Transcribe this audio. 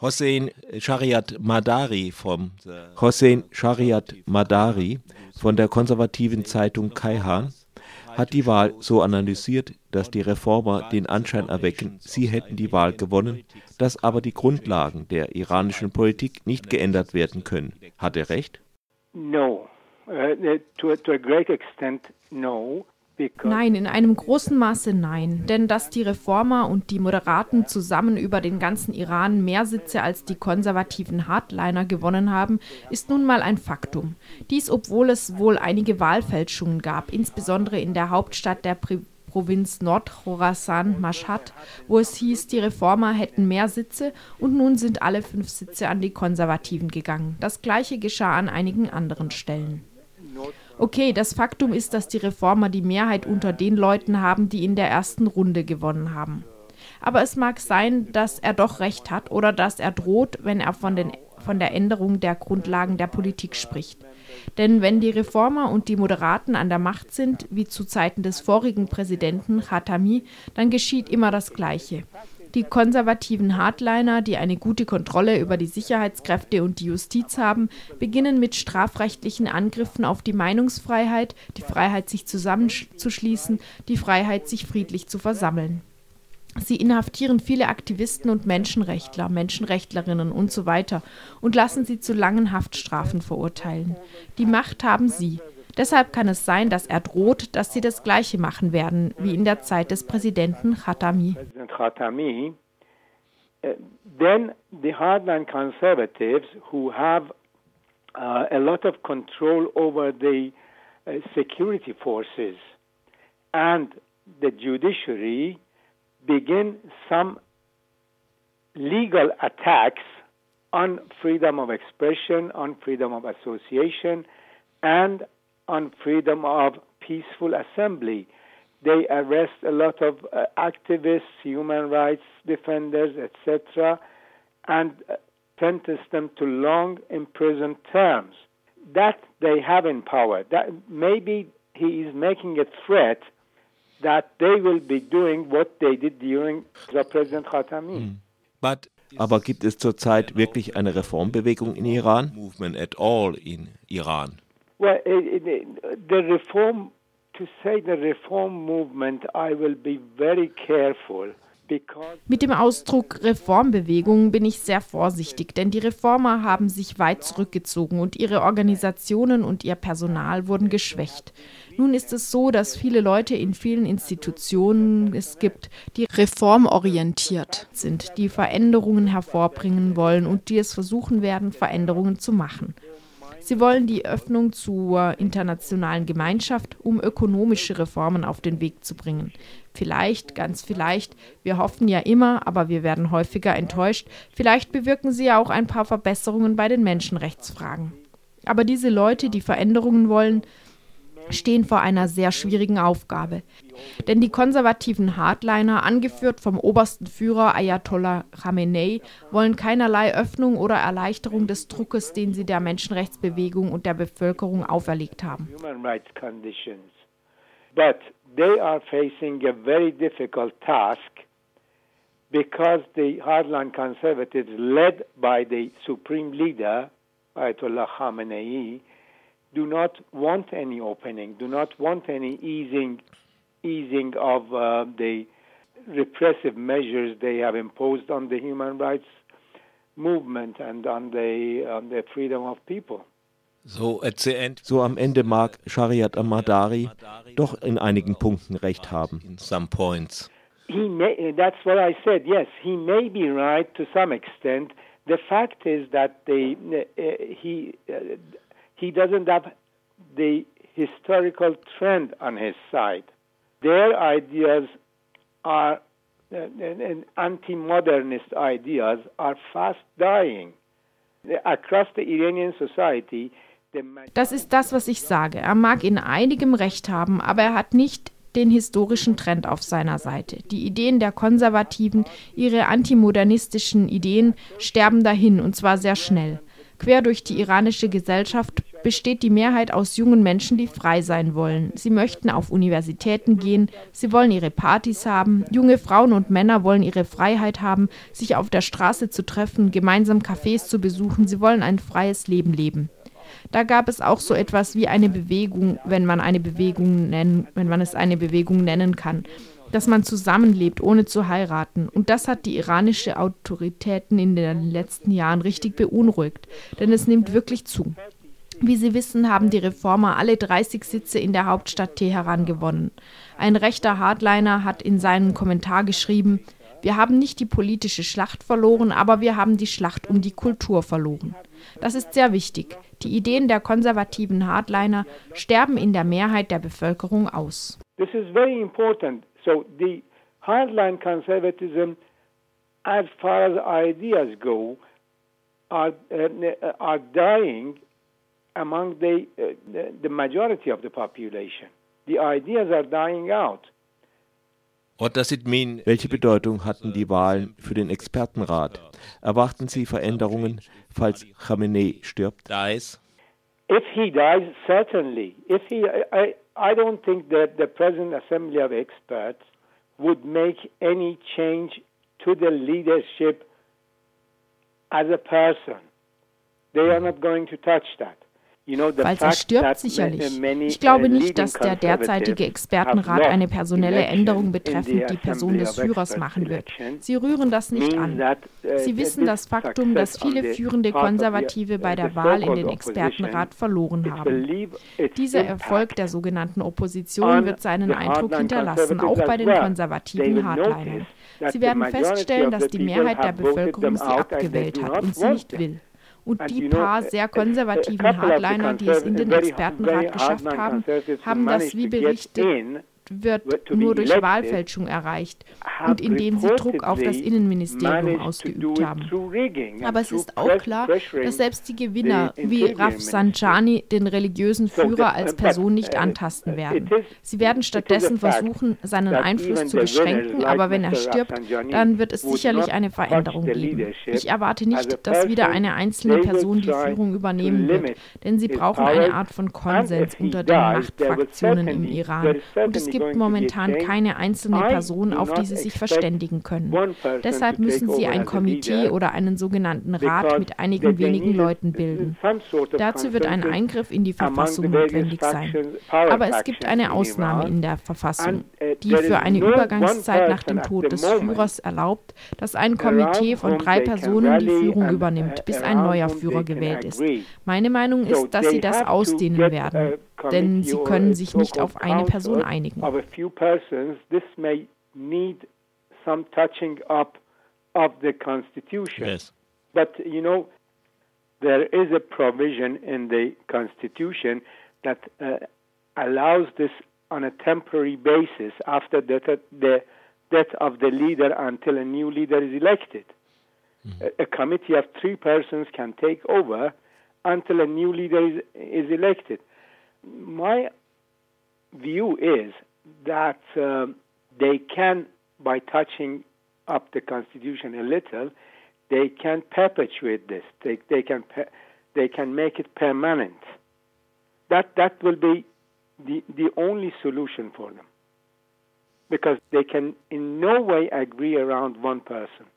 Hossein Shariatmadari von der konservativen Zeitung Kayhan hat die Wahl so analysiert, dass die Reformer den Anschein erwecken, sie hätten die Wahl gewonnen, dass aber die Grundlagen der iranischen Politik nicht geändert werden können. Hat er recht? No. To a great extent, no. Nein, in einem großen Maße nein. Denn dass die Reformer und die Moderaten zusammen über den ganzen Iran mehr Sitze als die konservativen Hardliner gewonnen haben, ist nun mal ein Faktum. Dies, obwohl es wohl einige Wahlfälschungen gab, insbesondere in der Hauptstadt der Provinz Nordchorasan, Mashhad, wo es hieß, die Reformer hätten mehr Sitze und nun sind alle 5 Sitze an die Konservativen gegangen. Das Gleiche geschah an einigen anderen Stellen. Okay, das Faktum ist, dass die Reformer die Mehrheit unter den Leuten haben, die in der ersten Runde gewonnen haben. Aber es mag sein, dass er doch recht hat oder dass er droht, wenn er von der Änderung der Grundlagen der Politik spricht. Denn wenn die Reformer und die Moderaten an der Macht sind, wie zu Zeiten des vorigen Präsidenten Khatami, dann geschieht immer das Gleiche. Die konservativen Hardliner, die eine gute Kontrolle über die Sicherheitskräfte und die Justiz haben, beginnen mit strafrechtlichen Angriffen auf die Meinungsfreiheit, die Freiheit, sich zusammenzuschließen, die Freiheit, sich friedlich zu versammeln. Sie inhaftieren viele Aktivisten und Menschenrechtler, Menschenrechtlerinnen und so weiter und lassen sie zu langen Haftstrafen verurteilen. Die Macht haben sie. Deshalb kann es sein, dass er droht, dass sie das Gleiche machen werden, wie in der Zeit des Präsidenten Khatami. Then the hardline conservatives who have a lot of control over the security forces and the judiciary begin some legal attacks on freedom of expression, on freedom of association, and on freedom of peaceful assembly. They arrest a lot of activists, human rights defenders, etc., and sentence them to long imprisoned terms. That they have in power. That maybe he is making a threat that they will be doing what they did during the President Khatami. Aber gibt es zurzeit wirklich eine Reformbewegung in Iran? Movement at all in Iran? Well, the reform movement, I will be very careful. Mit dem Ausdruck Reformbewegung bin ich sehr vorsichtig, denn die Reformer haben sich weit zurückgezogen und ihre Organisationen und ihr Personal wurden geschwächt. Nun ist es so, dass viele Leute in vielen Institutionen es gibt, die reformorientiert sind, die Veränderungen hervorbringen wollen und die es versuchen werden, Veränderungen zu machen. Sie wollen die Öffnung zur internationalen Gemeinschaft, um ökonomische Reformen auf den Weg zu bringen. Vielleicht, ganz vielleicht, wir hoffen ja immer, aber wir werden häufiger enttäuscht, vielleicht bewirken sie ja auch ein paar Verbesserungen bei den Menschenrechtsfragen. Aber diese Leute, die Veränderungen wollen, stehen vor einer sehr schwierigen Aufgabe. Denn die konservativen Hardliner, angeführt vom obersten Führer Ayatollah Khamenei, wollen keinerlei Öffnung oder Erleichterung des Druckes, den sie der Menschenrechtsbewegung und der Bevölkerung auferlegt haben. But they are facing a very difficult task because the hardline conservatives led by the supreme leader, Ayatollah Khamenei, do not want any opening, do not want any easing of the repressive measures they have imposed on the human rights movement and on the freedom of people. So am Ende mag Shariatmadari doch in einigen Punkten recht haben. In some points. That's what I said. Yes, he may be right to some extent. The fact is that he doesn't have the historical trend on his side. Their ideas are, anti-modernist ideas are fast dying. Across the Iranian society, das ist das, was ich sage. Er mag in einigem Recht haben, aber er hat nicht den historischen Trend auf seiner Seite. Die Ideen der Konservativen, ihre antimodernistischen Ideen sterben dahin, und zwar sehr schnell. Quer durch die iranische Gesellschaft besteht die Mehrheit aus jungen Menschen, die frei sein wollen. Sie möchten auf Universitäten gehen, sie wollen ihre Partys haben, junge Frauen und Männer wollen ihre Freiheit haben, sich auf der Straße zu treffen, gemeinsam Cafés zu besuchen, sie wollen ein freies Leben leben. Da gab es auch so etwas wie eine Bewegung, wenn man es eine Bewegung nennen kann, dass man zusammenlebt, ohne zu heiraten. Und das hat die iranische Autoritäten in den letzten Jahren richtig beunruhigt, denn es nimmt wirklich zu. Wie Sie wissen, haben die Reformer alle 30 Sitze in der Hauptstadt Teheran gewonnen. Ein rechter Hardliner hat in seinem Kommentar geschrieben: Wir haben nicht die politische Schlacht verloren, aber wir haben die Schlacht um die Kultur verloren. Das ist sehr wichtig. Die Ideen der konservativen Hardliner sterben in der Mehrheit der Bevölkerung aus. This is very important. So the hardline conservatism, as far as ideas go, are dying among the majority of the population. The ideas are dying out. Welche Bedeutung hatten die Wahlen für den Expertenrat? Erwarten Sie Veränderungen, falls Khamenei stirbt? If he dies, certainly. I don't think that the present Assembly of Experts would make any change to the leadership as a person. They are not going to touch that. Falls er stirbt, sicherlich. Ich glaube nicht, dass der derzeitige Expertenrat eine personelle Änderung betreffend die Person des Führers machen wird. Sie rühren das nicht an. Sie wissen das Faktum, dass viele führende Konservative bei der Wahl in den Expertenrat verloren haben. Dieser Erfolg der sogenannten Opposition wird seinen Eindruck hinterlassen, auch bei den konservativen Hardlinern. Sie werden feststellen, dass die Mehrheit der Bevölkerung sie abgewählt hat und sie nicht will. Und die paar sehr konservativen Hardliner, die es in den Expertenrat geschafft haben, haben das, wie berichtet wird, nur durch Wahlfälschung erreicht und indem sie Druck auf das Innenministerium ausgeübt haben. Aber es ist auch klar, dass selbst die Gewinner wie Rafsanjani den religiösen Führer als Person nicht antasten werden. Sie werden stattdessen versuchen, seinen Einfluss zu beschränken, aber wenn er stirbt, dann wird es sicherlich eine Veränderung geben. Ich erwarte nicht, dass wieder eine einzelne Person die Führung übernehmen wird, denn sie brauchen eine Art von Konsens unter den Machtfraktionen im Iran. Und es gibt momentan keine einzelne Person, auf die sie sich verständigen können. Deshalb müssen sie ein Komitee oder einen sogenannten Rat mit einigen wenigen Leuten bilden. Dazu wird ein Eingriff in die Verfassung notwendig sein. Aber es gibt eine Ausnahme in der Verfassung, die für eine Übergangszeit nach dem Tod des Führers erlaubt, dass ein Komitee von 3 Personen die Führung übernimmt, bis ein neuer Führer gewählt ist. Meine Meinung ist, dass sie das ausdehnen werden, denn sie können sich nicht auf eine Person einigen. Of a few persons, this may need some touching up of the Constitution. Yes. But, there is a provision in the Constitution that allows this on a temporary basis after the death of the leader until a new leader is elected. A committee of 3 persons can take over until a new leader is elected. My view is that they can, by touching up the Constitution a little, they can perpetuate this. They can make it permanent. That will be the only solution for them, because they can in no way agree around one person.